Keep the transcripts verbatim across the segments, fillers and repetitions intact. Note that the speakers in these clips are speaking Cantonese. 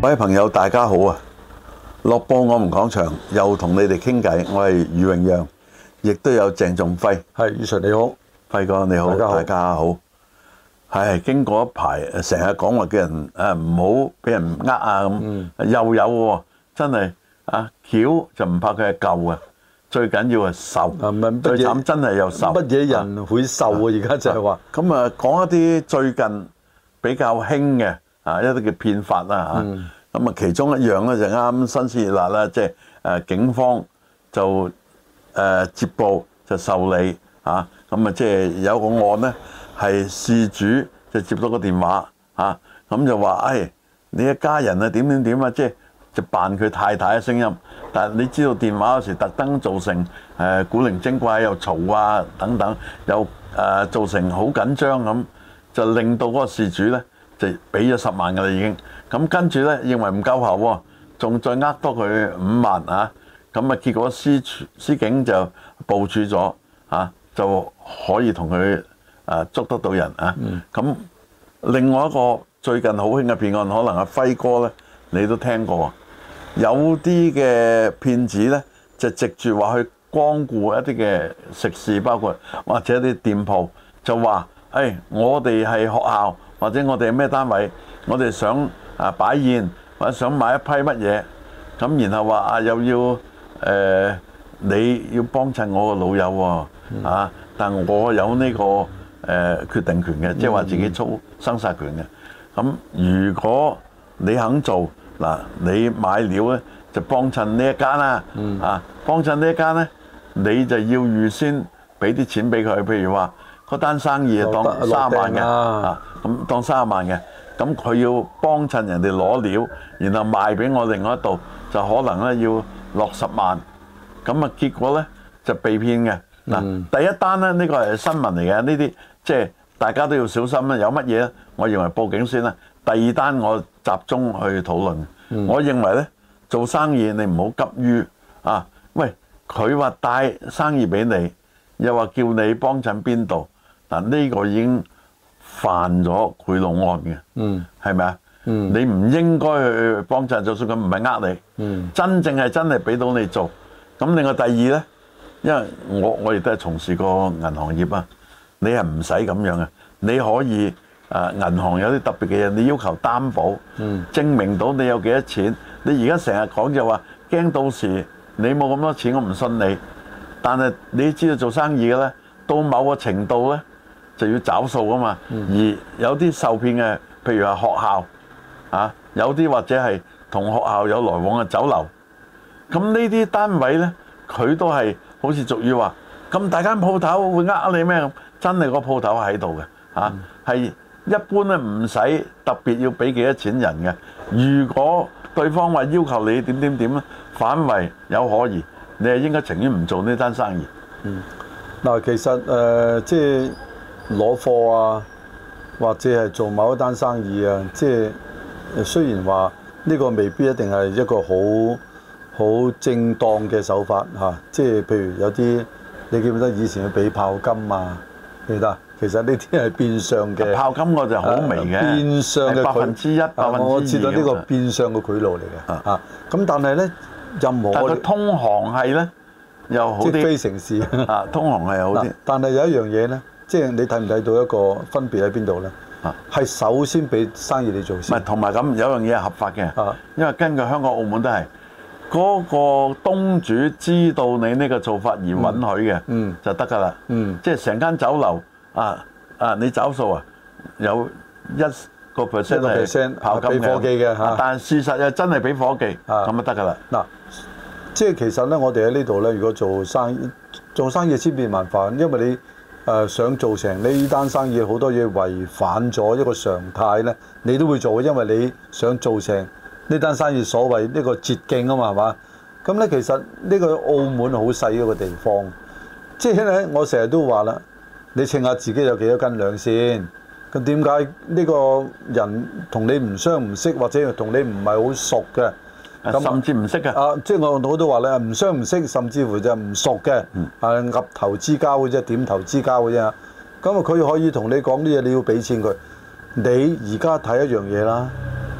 各位朋友，大家好啊！樂報我們講場又同你哋傾偈，我係余榮陽，亦都有鄭仲輝。 係，余 Sir 你好， 輝哥你好， 大家好。 大家好。係經過一排，成日講話叫人誒唔好俾人呃啊咁，嗯、又有喎，真係啊橋就唔怕佢係舊嘅，最緊要係受。 嗯、 最慘真係有受。 乜嘢人會受啊？而家就係話。 咁啊，講一啲最近比較興嘅啊，一啲嘅騙法啦嚇。嗯咁啊，其中一樣咧就啱新鮮熱辣啦，即係誒警方就誒接報就受理嚇，咁啊即係有個案咧係事主就接到個電話嚇，咁就話誒你一家人啊點點點啊，即係就扮佢太太嘅聲音，但係你知道電話嗰時特登造成誒古靈精怪又嘈啊等等，又誒造成好緊張咁，就令到嗰個事主咧就俾咗十萬㗎啦已經。咁跟住咧，認為唔夠喉喎，仲再呃多佢五萬啊！咁啊，結果司司警就部署咗啊，就可以同佢啊捉得到人啊！咁、嗯、另外一個最近好興嘅騙案，可能阿輝哥咧你都聽過，有啲嘅騙子咧就藉住話去光顧一啲嘅食肆，包括或者一啲店鋪，就話誒、哎、我哋係學校或者我哋係咩單位，我哋想啊擺宴或者想買一批乜嘢，咁然後話啊又要誒、呃、你要幫襯我個老友喎、嗯、啊，但我有呢、這個誒、呃、決定權嘅，即係話自己操生殺權嘅。咁如果你肯做嗱，你買料咧就幫襯呢一間啦，嗯、啊幫襯呢一間咧，你就要預先俾啲錢俾佢，譬如話嗰單生意當三十萬嘅啊，咁當三十萬嘅。咁佢要幫襯人哋攞料，然後賣俾我另外一度，就可能咧要落十萬。咁啊結果咧就被騙嘅。嗱、嗯，第一單咧呢、這個係新聞嚟嘅，呢啲即係大家都要小心啦。有乜嘢咧？我認為報警先啦。第二單我集中去討論。嗯、我認為咧做生意你唔好急於啊，喂佢話帶生意俾你，又話叫你幫襯邊度，嗱呢個已經犯咗賄賂案嘅，嗯，係咪啊？嗯，你唔應該去幫襯，就算佢唔係呃你，嗯，真正係真係俾到你做。咁另外第二咧，因為我我亦都係從事過銀行業啊，你係唔使咁樣嘅，你可以誒銀行有啲特別嘅嘢，你要求擔保，嗯，證明到你有幾多錢。你而家成日講就話驚到時你冇咁多錢，我唔信你。但係你知道做生意嘅咧，到某個程度咧，就要找數噶嘛，而有啲受騙嘅，譬如話學校啊，有啲或者係同學校有來往嘅酒樓，咁呢啲單位呢，佢都係好似俗語話，咁大間鋪頭會呃你咩咁？真係個鋪頭喺度嘅，啊係一般咧唔使特別要俾幾多錢人嘅。如果對方話要求你點點點咧，反為有可疑，你係應該情願唔做呢單生意。 嗯，嗱其實誒、呃、即係。攞貨啊，或者係做某一單生意啊，即係雖然話呢個未必一定係一個好好正當嘅手法嚇、啊，即係譬如有啲你記唔記得以前要俾炮金啊？記得，其實呢啲係變相嘅炮金，我就好微嘅、啊，變相嘅百分之一、百分之二、啊。 我知道呢個變相嘅賄賂嚟嘅嚇，咁、啊、但係咧任何但係通航係咧又好啲， 即係非城市啊，通航係好啲、啊。 但係有一樣嘢咧。即係你睇唔睇到一個分別喺邊度咧？啊，係首先俾生意你做先。唔係，同埋咁有樣嘢係合法嘅。啊，因為根據香港、澳門都係嗰個東主知道你呢個做法而允許嘅，嗯，就得㗎啦。嗯，即係成間酒樓啊啊，你找數啊，有一個 percent 係跑金嘅，夥計嘅嚇。但係事實又真係俾夥計，咁就得㗎啦。嗱，即係其實咧，我哋喺呢度咧，如果做生意，做生意千變萬化，因為你。誒、呃、想做成呢單生意，好多嘢違反咗一個常態咧，你都會做，因為你想做成呢單生意所謂呢個捷徑啊嘛，係嘛？咁咧其實呢個澳門好細一個地方，即係咧我成日都話啦，你稱下自己有幾多斤兩先？咁點解呢個人同你唔相唔識，或者同你唔係好熟嘅？ 甚至唔識嘅啊！即係我我都話咧，唔相唔識，甚至乎就唔熟嘅，嗯、啊岌頭之交嘅啫，點頭之交嘅啫。咁啊，佢可以同你講啲嘢，你要俾錢佢。你而家睇一樣嘢啦，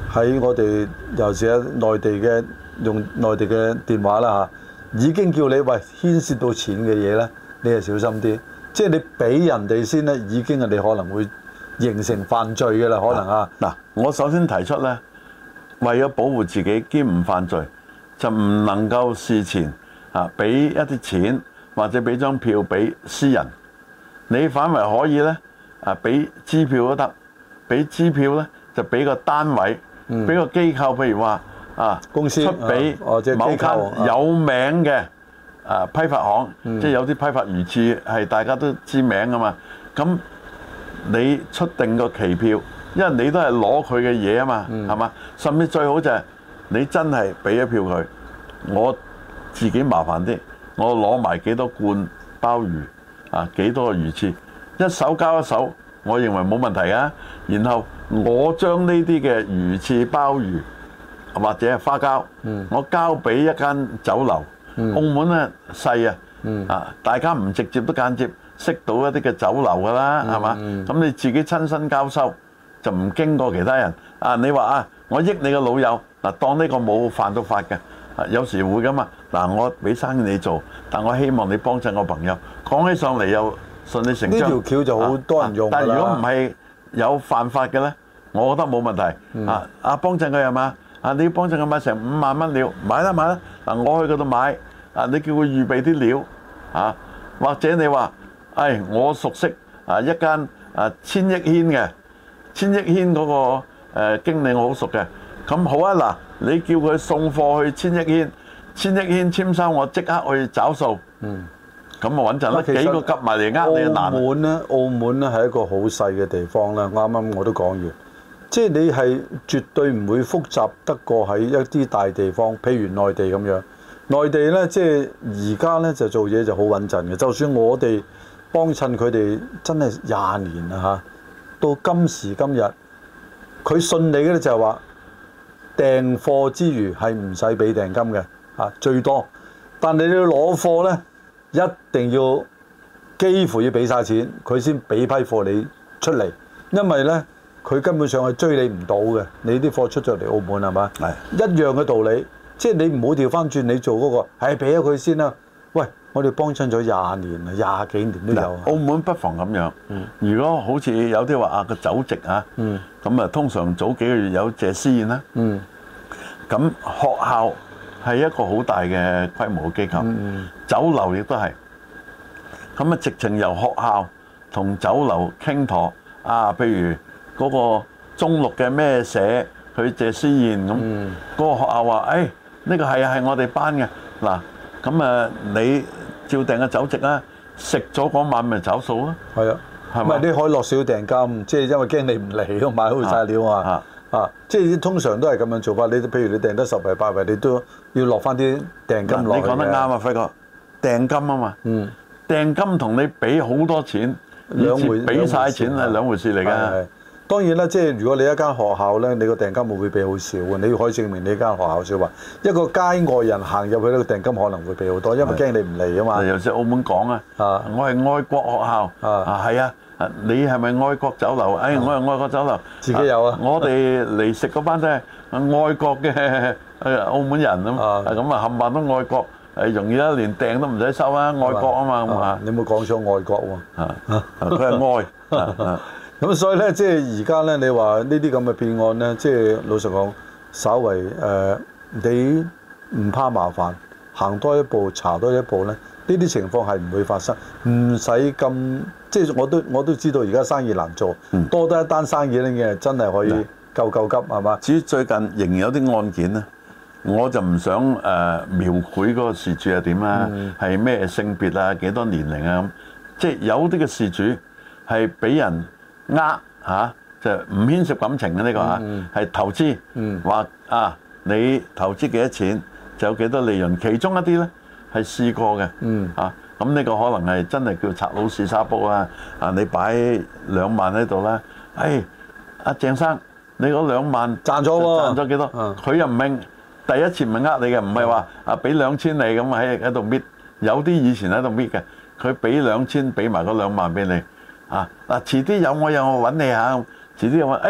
喺我哋尤其係內地嘅用內地嘅電話啦嚇，已經叫你喂牽涉到錢嘅嘢咧，你係小心啲。即係你俾人哋先咧，已經係你可能會形成犯罪嘅啦，可能啊。 嗱，我首先提出咧，為咗保護自己兼唔犯罪，就唔能夠事前啊俾一啲錢或者俾張票俾私人。你反為可以咧啊俾支票都得，俾支票咧就俾個單位。俾個機構，譬如話啊，公司出俾某間有名嘅啊批發行，即係有啲批發魚翅係大家都知名噶嘛。咁你出定個期票，因為你都係攞佢嘅嘢啊嘛，係嘛？甚至最好就係你真係俾咗票佢，我自己麻煩啲，我攞埋幾多罐鮑魚啊，幾多個魚翅，一手交一手，我認為冇問題啊。然後我將呢啲嘅魚翅、鮑魚或者係花膠，嗯、我交俾一間酒樓。嗯、澳門咧細啊，嗯、啊大家唔直接都間接識到一啲嘅酒樓噶啦，係嘛？咁你自己親身交收，就唔經過其他人。啊，你話啊，我益你個老友，嗱當呢個冇犯到法嘅，有時會噶嘛。嗱，我俾生意你做，但我希望你幫襯我朋友。講起上嚟又順理成章。呢條橋就好多人用㗎啦。但係如果唔係有犯法嘅咧，我覺得冇問題。嗯、啊，啊幫襯佢係嘛？啊你要幫襯佢買成五萬蚊料，買啦買啦。嗱我去嗰度買，啊你叫佢預備啲料，啊或者你話，誒、哎、我熟悉啊一間啊千億軒嘅，千億軒嗰、那個誒、呃、經理我好熟嘅，咁好啊嗱，你叫佢送貨去千億軒，千億軒簽收我即刻去找數。嗯。咁啊穩陣啦，幾個夾埋嚟呃你難。澳門咧，澳門咧係一個好細嘅地方啦。啱啱我都講完，即係你係絕對唔會複雜得過喺一啲大地方，譬如內地咁樣。內地咧，即係而家咧就做嘢就好穩陣嘅。就算我哋幫襯佢哋真係廿年啦嚇，到今時今日，佢信你嘅咧就係話訂貨之餘係唔使俾訂金嘅嚇，最多。但係你要攞貨咧，一定要幾乎要俾晒錢，佢先俾批貨你出嚟，因為呢，佢根本上係追你唔到嘅。你啲貨出咗嚟澳門係嘛？係一樣嘅道理，即係你唔好調翻轉，你做嗰個係俾咗佢先啦。喂，我哋幫襯咗廿年啦，廿幾年都有。澳門不妨咁樣，嗯、如果好似有啲話啊個酒席啊，咁啊、嗯、通常早幾個月有謝師宴啦，咁、嗯、學校係一個好大嘅規模嘅機構，嗯、酒樓亦都係，咁啊直情由學校同酒樓傾妥啊，譬如嗰個中六嘅咩社去謝師宴咁，嗰、嗯、個學校話：誒、哎、呢、呢個係係我哋班嘅，嗱咁啊你照訂個酒席啦，食咗嗰晚咪找數咯。係啊，係咪？你可以落少訂金，即係因為驚你唔嚟都買好晒料啊。啊啊！即係通常都係咁樣做法。你譬如你訂得十圍八圍，你都要落翻啲訂金落去。你講得啱啊，輝哥！訂金啊嘛。嗯。訂金同你俾好多錢，兩回俾晒錢係兩回事嚟㗎。當然啦，即係如果你一間學校咧，你個訂金會會俾好少嘅。你可以證明你間學校少話。一個街外人行入去呢個訂金可能會俾好多，因為驚你唔嚟啊嘛。尤其是澳門講啊，我係愛國學校啊，係啊。你係咪愛國酒樓？哎，我係愛國酒樓，自己有啊！我哋嚟食嗰班都係愛國嘅誒澳門人咁，咁啊冚唪唥都愛國，誒容易啦，連訂都唔使收啊！愛國啊嘛咁啊！你冇講錯愛國喎，啊佢係愛，咁所以咧，即係而家咧，你話呢啲咁嘅騙案咧，即係老實講，稍為誒你唔怕麻煩，行多一步，查多一步咧，呢啲情況係唔會發生，唔使咁。即係我都我都知道而家生意難做，嗯、多得一單生意咧嘅真係可以救救急係嘛？至於最近仍然有啲案件咧，我就唔想誒、呃、描繪嗰個事主係點啦，係咩、嗯、性別啊、幾多年齡啊咁。即係有啲嘅事主係俾人呃嚇，就唔牽涉感情嘅呢、呢個嚇，係、嗯、投資話、嗯、啊你投資幾多錢就有幾多利潤，其中一啲咧係試過嘅嚇。嗯啊咁呢個可能係真係叫賊佬試沙煲啊！啊，你擺兩萬喺度啦，誒，阿鄭生，你嗰兩萬賺咗喎，賺咗幾多？佢又唔明，第一次唔係呃你嘅，唔係話啊俾兩千你咁喺喺度搣，有啲以前喺度搣嘅，佢俾兩千，俾埋嗰兩萬俾你，啊嗱，遲啲有我有我揾你嚇，遲啲又話誒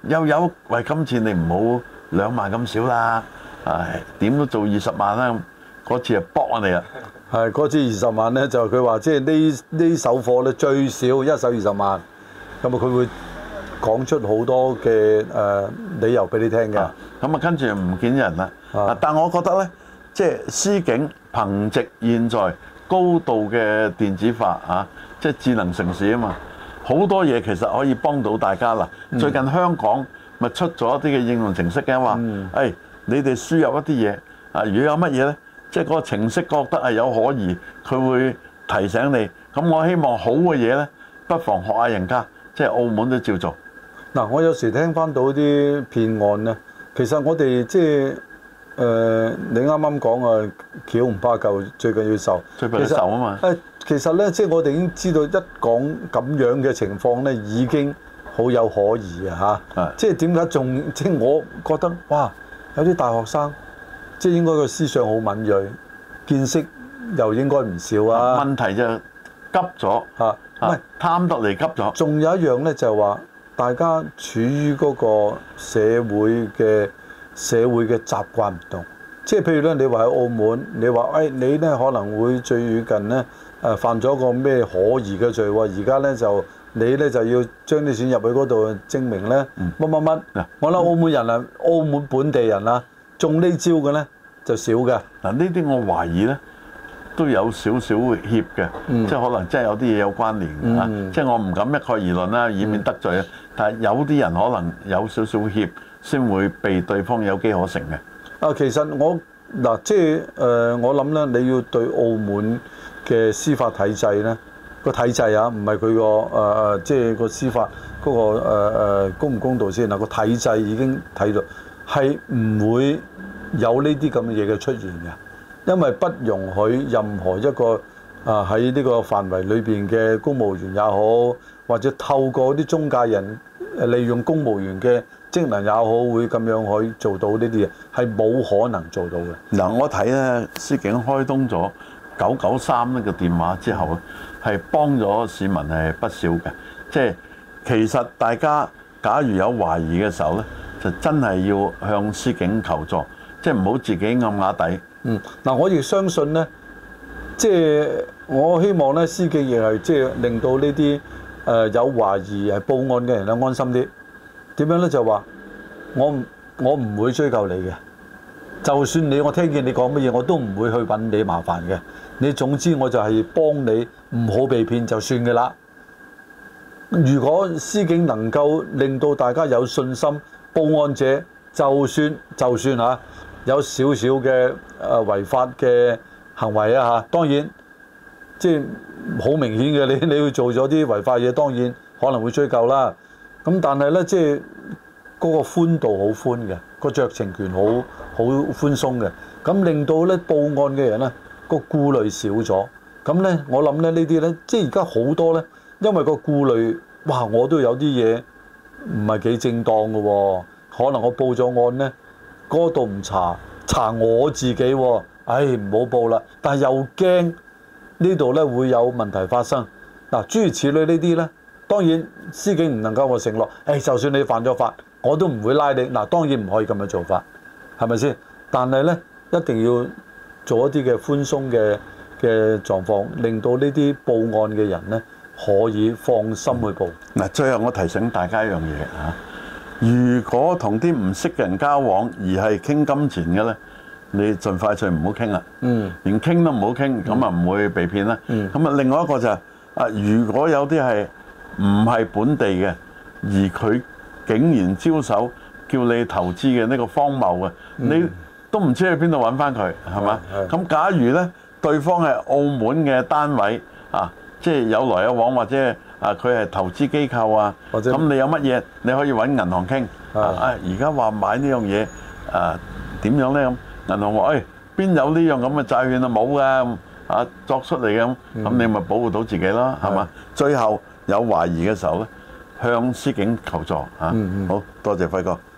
又有喂，今次你唔好兩萬咁少啦，唉點都做二十萬啦。嗰次就搏我哋啦。 係嗰次二十萬咧，就佢話即係呢呢手貨咧最少一手二十萬，咁啊佢會講出好多嘅誒、呃、理由俾你聽嘅。咁啊跟住唔見人啦。啊，但我覺得咧，即係司警憑藉現在高度嘅電子化啊，即係智能城市啊嘛，好多嘢其實可以幫到大家啦。嗯、最近香港咪出咗一啲嘅應用程式嘅話，誒、嗯哎、你哋輸入一啲嘢啊，如果有乜嘢咧？即係嗰個程式覺得係有可疑，佢會提醒你。咁我希望好嘅嘢呢，不妨學下人家，即係澳門都照做。 嗱，我有時聽翻到啲騙案呢，其實我哋即係誒，你啱啱講啊，橋唔怕舊，最緊要受。 最怕受啊嘛。 誒，其實呢，即係我哋已經知道一講咁樣嘅情況呢，已經好有可疑啊嚇。即係點解仲即係我覺得哇，有啲大學生。即係應該個思想好敏銳，見識又應該唔少啊。 問題就急咗嚇，唔係貪得嚟急咗。 仲有一樣咧，就係話大家處於嗰個社會嘅社會嘅習慣唔同。即係譬如咧，你話喺澳門，你話誒、哎、你咧可能會最近咧誒犯咗個咩可疑嘅罪喎，而家咧就你咧就要將啲錢入去嗰度證明咧乜乜乜。 嗯、 我諗澳門人啊，澳門本地人啊。中呢招嘅咧就少嘅。 嗱，呢啲我懷疑咧都有少少協嘅，嗯、即係可能真係有啲嘢有關聯嘅嚇。嗯、即係我唔敢一概而論啦，以免得罪啊。嗯、但係有啲人可能有少少協，先會被對方有機可乘嘅。 啊，其實我嗱即係誒、呃，我諗咧，你要對澳門嘅司法體制咧個體制啊，唔係佢個誒誒，即係個司法嗰、嗰個誒、呃、公唔公道先嗱，個體制已經睇到係唔會有呢啲咁嘅嘢嘅出現嘅，因為不容許任何一個啊喺呢個範圍裏邊嘅公務員也好，或者透過啲中介人誒利用公務員嘅職能也好，會咁樣去做到呢啲嘢，係冇可能做到嘅。 嗱，我睇咧，司警開通咗九九三呢個電話之後咧，係幫咗市民係不少嘅。即係其實大家假如有懷疑嘅時候咧，就真係要向司警求助，即係唔好自己暗啞底。 嗯，嗱，我亦相信咧，即係我希望咧，司警亦係即係令到呢啲誒有懷疑係報案嘅人咧安心啲。點樣咧？就話我我唔會追究你嘅，就算你我聽見你講乜嘢，我都唔會去揾你麻煩嘅。你總之我就係幫你唔好被騙就算嘅啦。如果司警能夠令到大家有信心，報案者就算就算嚇有少少嘅誒違法嘅行為啊嚇，當然即係好明顯嘅，你你要做咗啲違法嘢，當然可能會追究啦。咁但係咧，即係嗰個寬度好寬嘅，個酌情權好好寬鬆嘅，咁令到咧報案嘅人咧個顧慮少咗。咁咧，我諗咧呢啲咧，即係而家好多咧，因為個顧慮，哇！我都有啲嘢唔係幾正當嘅喎，可能我報咗案咧，嗰度唔查，查我自己喎，唉唔好報啦。但係又驚呢度咧會有問題發生。嗱，諸如此類呢啲咧。當然，司警唔能夠我承諾，誒、哎，就算你犯咗法，我都唔會拉你。嗱，當然唔可以咁樣做法，係咪先？但係呢，一定要做一啲嘅寬鬆嘅嘅狀況，令到呢啲報案嘅人呢可以放心去報。 嗱、嗯，最後我提醒大家一樣嘢嚇，如果同啲唔識嘅人交往而係傾金錢嘅呢，你盡快脆唔好傾啦。嗯，連傾都唔好傾，咁啊唔會被騙啦。嗯，咁啊另外一個就係、是、啊，如果有啲係唔係本地嘅，而佢竟然招手叫你投資嘅呢個荒謬嘅，嗯、你都唔知去邊度揾翻佢，係嘛？咁假如呢，對方係澳門嘅單位啊，即係有來有往，或者啊佢係投資機構啊，咁者你有乜嘢你可以揾銀行傾啊？而家話買呢樣嘢啊點樣呢？咁銀行話誒邊有呢樣咁嘅債券啊，冇㗎啊，作出嚟嘅咁，咁、嗯、你咪保護到自己咯，係嘛？最後有懷疑嘅時候咧，向司警求助嚇。嗯嗯、好多謝輝哥。